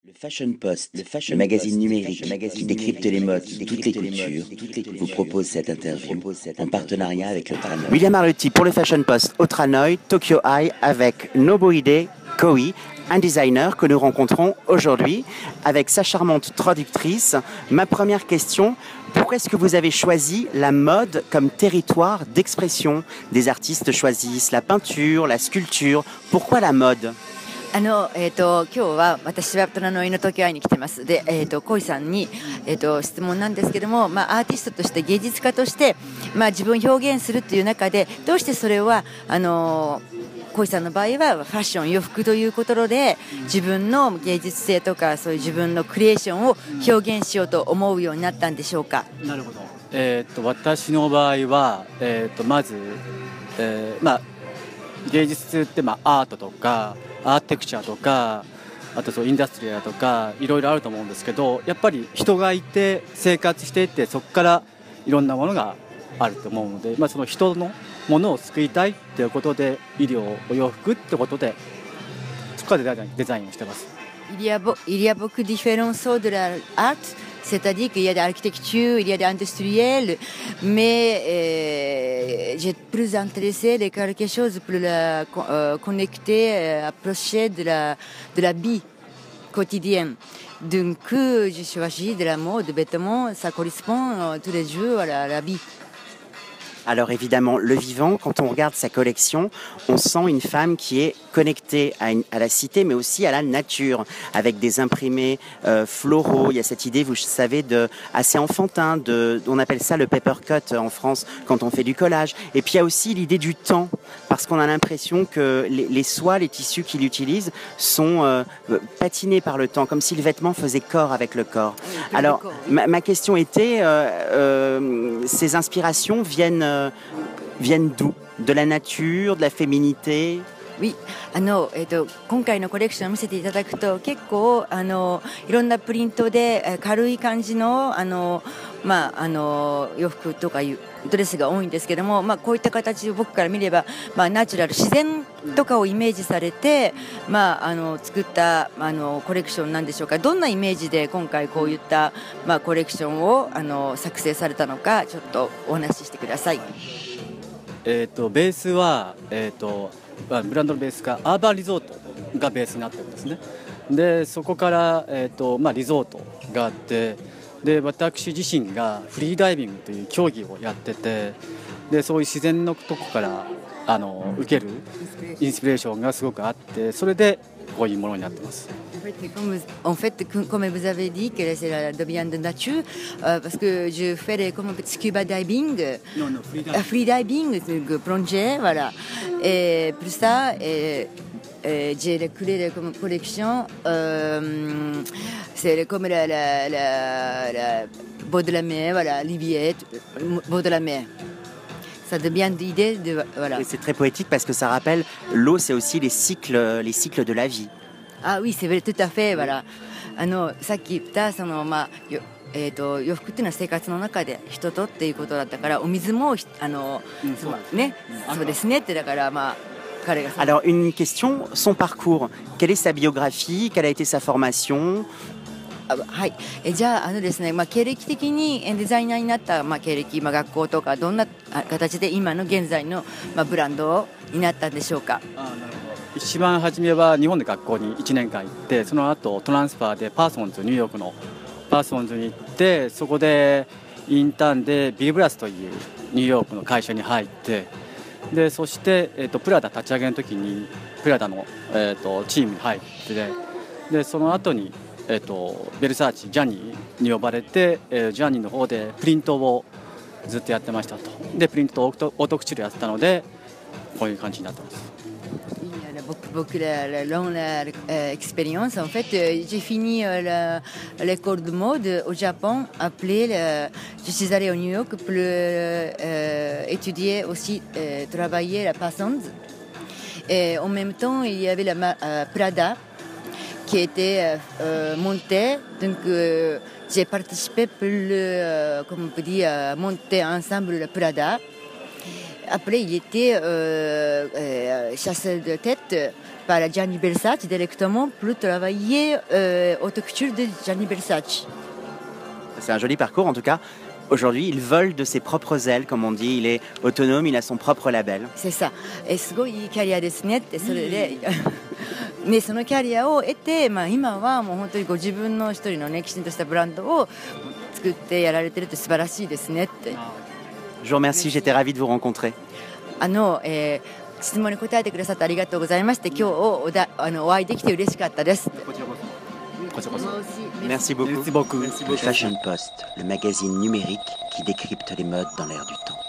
Le Fashion Post, le magazine numérique qui décrypte les modes, toutes les couture, vous propose cette interview en partenariat avec le Tranoï. William Arlotti pour le Fashion Post au Tranoï, Tokyo Eye, avec Nobuhide Koi, un designer que nous rencontrons aujourd'hui avec sa charmante traductrice. Ma première question, pourquoi est-ce que vous avez choisi la mode comme territoire d'expression? Des artistes choisissent la peinture, la sculpture. Pourquoi la mode? 今日は私は虎の犬東京会に来てます。で、小井さんに、質問なんですけども、アーティストとして芸術家として、自分を表現するという中で、どうしてそれは小井さんの場合はファッション、洋服ということで自分の芸術性とかそういう自分のクリエーションを表現しようと思うようになったんでしょうか。 なるほど。私の場合は、まず、芸術って、アートとかアーテクチャとかあとそうインダストリアとかいろいろあると思うんですけど、やっぱり人がいて生活していてそこからいろんなものがあると思うので、その人のものを救いたいということで医療お洋服ってことでそこからデザインをしてます。 Il y a beaucoup de différences de l'art, c'est-à-dire qu'il y a de l'architecture, il y a de l'industriel, mais j'ai plus intéressé de quelque chose plus connecté, approché de la vie quotidienne. Donc, je choisis de la mode, de vêtements, ça correspond tous les jours à la vie. Alors évidemment, le vivant, quand on regarde sa collection, on sent une femme qui est connectée à la cité, mais aussi à la nature, avec des imprimés floraux. Il y a cette idée, vous savez, assez enfantin, on appelle ça le paper cut en France, quand on fait du collage. Et puis il y a aussi l'idée du temps, parce qu'on a l'impression que les soies, les tissus qu'il utilise sont patinés par le temps, comme si le vêtement faisait corps avec le corps. Alors ma question était, ces inspirations viennent d'où? De la nature, de la féminité? Oui. 今回のコレクションを見せていただくと結構いろんなプリントで軽い感じの洋服とかいうドレスが多いんですけども、こういった形を僕から見れば、ナチュラル自然とかをイメージされて、作ったコレクションなんでしょうか。どんなイメージで今回こういった、コレクションを作成されたのかちょっとお話ししてください。 ベースは、ブランドのベースがアーバンリゾートがベースになってるんですね。でそこから、リゾートがあって、で私自身がフリーダイビングという競技をやってて、でそういう自然のとこから受けるインスピレーションがすごくあって、それでこういうものになってます。 En fait, comme vous avez dit, que c'est la domaine de nature, parce que je fais comme scuba diving, free diving, plongée, voilà. Et pour ça, j'ai créé comme collection, c'est comme la bord de la mer, voilà, Liviette, bord de la mer. Ça devient l'idée de voilà. Et c'est très poétique parce que ça rappelle l'eau, c'est aussi les cycles de la vie. Ah oui, c'est vrai, tout à fait, voilà. さっき言った洋服っていうのは生活の中で人とっていうことだったから、お水もそうですねってだから彼が。 Alors une question, son parcours, quelle est sa biographie, quelle a été sa formation? はい、じゃあですね、経歴的にデザイナーになった、経歴、学校とかどんな形で今の現在の、ブランドになったんでしょうか。 一番初めは日本で学校に1年間行って、その後トランスファーでパーソンズ、ニューヨークのパーソンズに行って、そこでインターンでビルブラスというニューヨークの会社に入って、でそして、プラダ立ち上げの時にプラダの、チームに入って、でその後に、ベルサーチジャニーに呼ばれて、ジャニーの方でプリントをずっとやってましたと。でプリントとオートクチュールやってたのでこういう感じになってます。 Beaucoup la longue expérience. En fait, j'ai fini l'école de mode au Japon. Je suis allée au New York pour étudier aussi, travailler la Parsons. Et en même temps, il y avait la Prada qui était montée. Donc, j'ai participé pour comme on peut dire, monter ensemble la Prada. Après, il était chasseur de tête par Gianni Versace directement pour travailler haute couture de Gianni Versace. C'est un joli parcours en tout cas. Aujourd'hui, il vole de ses propres ailes, comme on dit. Il est autonome, il a son propre label. C'est ça. すごいいいキャリアですねってそれでね、そのキャリアを得て、今はもう本当にご自分の一人のねきちんとしたブランドを作ってやられてるって素晴らしいですねって。 Je vous remercie, j'étais ravi de vous rencontrer. 質問に答えてくださってありがとうございまして、今日お会いできて嬉しかったです。 Merci beaucoup. Merci beaucoup. Le Fashion Post, le magazine numérique qui décrypte les modes dans l'air du temps.